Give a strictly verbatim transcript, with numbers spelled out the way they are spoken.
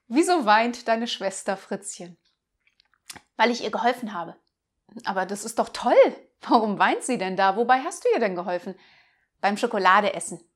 Wieso weint deine Schwester Fritzchen? Weil ich ihr geholfen habe. Aber das ist doch toll. Warum weint sie denn da? Wobei hast du ihr denn geholfen? Beim Schokoladeessen.